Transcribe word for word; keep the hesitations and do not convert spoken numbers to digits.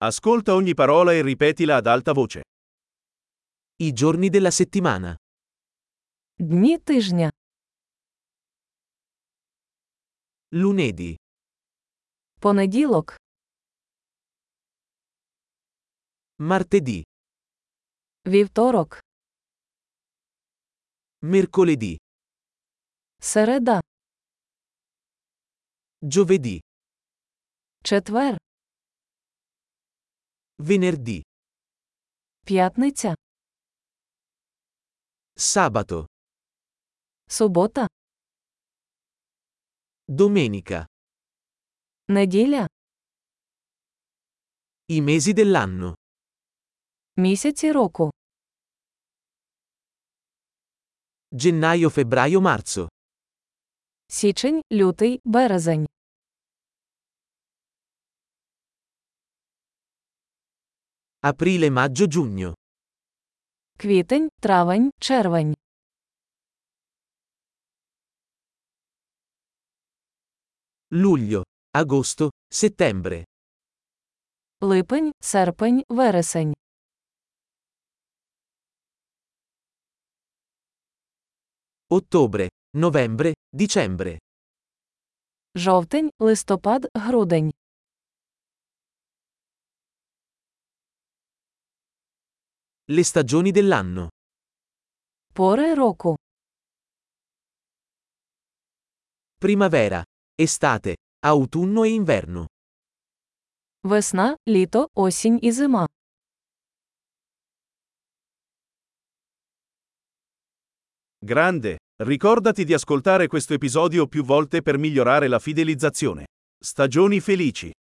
Ascolta ogni parola e ripetila ad alta voce. I giorni della settimana. Дні тижня. Lunedì, Понеділок, martedì, вівторок, mercoledì, середа, giovedì, четвер, venerdì, п'ятниця, sabato, субота, domenica. неділя, I mesi dell'anno. місяці року. Gennaio, febbraio, marzo. Січень, лютий, березень. Aprile, maggio, giugno. Квітень, травень, червень. Luglio, agosto, settembre. Липень, серпень, вересень. Ottobre, novembre, dicembre. Жовтень, листопад, грудень. Le stagioni dell'anno. Пори року. Primavera, estate, autunno e inverno. Весна, літо, осінь і зима. Grande, ricordati di ascoltare questo episodio più volte per migliorare la fidelizzazione. Stagioni felici.